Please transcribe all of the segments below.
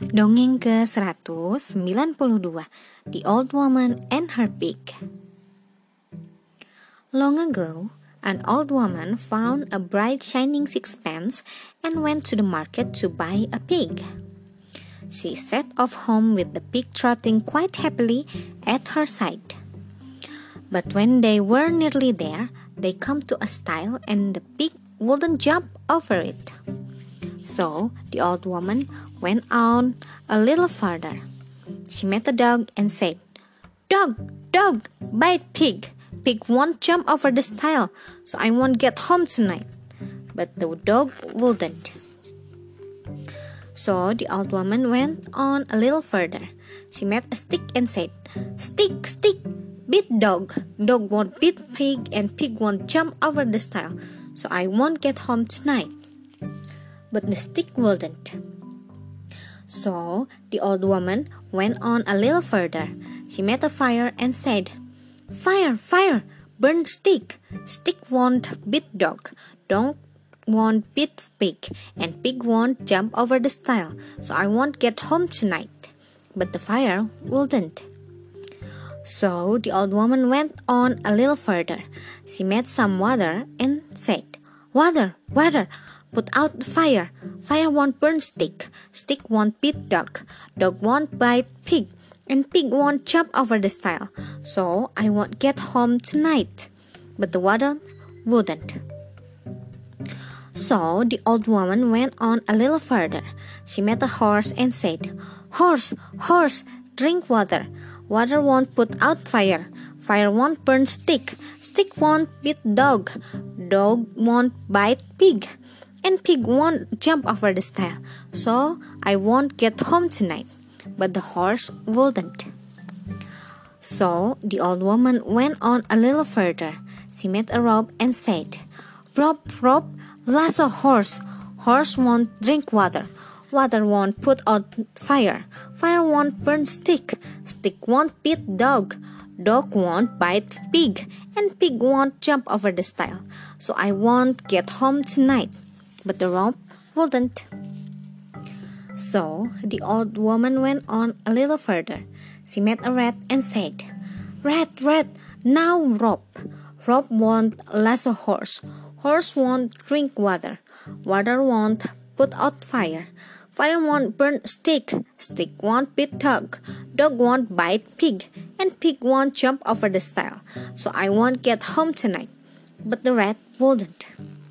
Dongeng ke-192, The Old Woman and Her Pig. Long ago, an old woman found a bright shining sixpence and went to the market to buy a pig. She set off home with the pig trotting quite happily at her side. But when they were nearly there, they come to a stile and the pig wouldn't jump over it. So the old woman went on a little further. She met a dog and said, "Dog, dog, bite pig. Pig won't jump over the stile, so I won't get home tonight." But the dog wouldn't. So the old woman went on a little further. She met a stick and said, "Stick, stick, beat dog. Dog won't beat pig and pig won't jump over the stile, so I won't get home tonight." But the stick wouldn't. So the old woman went on a little further. She met a fire and said, "Fire, fire, burn stick. Stick won't beat dog. Dog won't beat pig, and pig won't jump over the stile, so I won't get home tonight." But the fire wouldn't. So the old woman went on a little further. She met some water and said, "Water, water, put out the fire. Fire won't burn stick. Stick won't beat dog. Dog won't bite pig, and pig won't jump over the stile, so I won't get home tonight." But the water wouldn't. So the old woman went on a little further. She met a horse and said, "Horse, horse, drink water. Water won't put out fire. Fire won't burn stick. Stick won't beat dog. Dog won't bite pig, and pig won't jump over the stile, so I won't get home tonight." But the horse wouldn't. So the old woman went on a little further. She met a rope and said, "Rope, rope, lasso horse. Horse won't drink water. Water won't put out fire. Fire won't burn stick. Stick won't beat dog. Dog won't bite pig, and pig won't jump over the stile, so I won't get home tonight." But the rope wouldn't. So the old woman went on a little further. She met a rat and said, "Rat, rat, now rope. Rope won't lasso horse. Horse won't drink water. Water won't put out fire. Fire won't burn stick. Stick won't beat dog. Dog won't bite pig, and pig won't jump over the stile, so I won't get home tonight." But the rat wouldn't.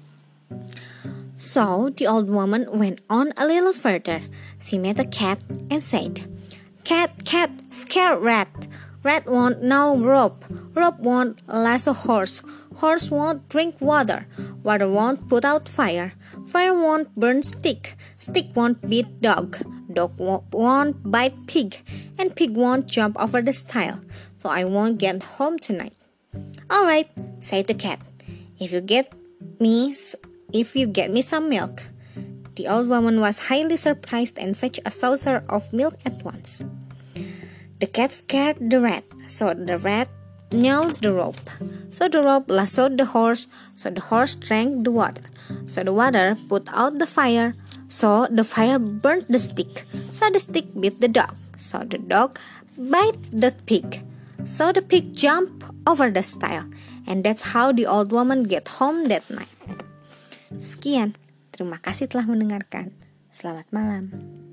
So the old woman went on a little further. She met a cat and said, "Cat, cat, scare rat. Rat won't know rope. Rope won't lasso horse. Horse won't drink water. Water won't put out fire. Fire won't burn stick. Stick won't beat dog. Dog won't bite pig, and pig won't jump over the stile, so I won't get home tonight." "All right," said the cat. If you get me some milk." The old woman was highly surprised and fetched a saucer of milk at once. The cat scared the rat, so the rat knew the rope. So the rope lassoed the horse, so the horse drank the water. So the water put out the fire, so the fire burnt the stick. So the stick beat the dog, so the dog bite the pig. So the pig jumped over the stile, and that's how the old woman get home that night. Sekian, terima kasih telah mendengarkan. Selamat malam.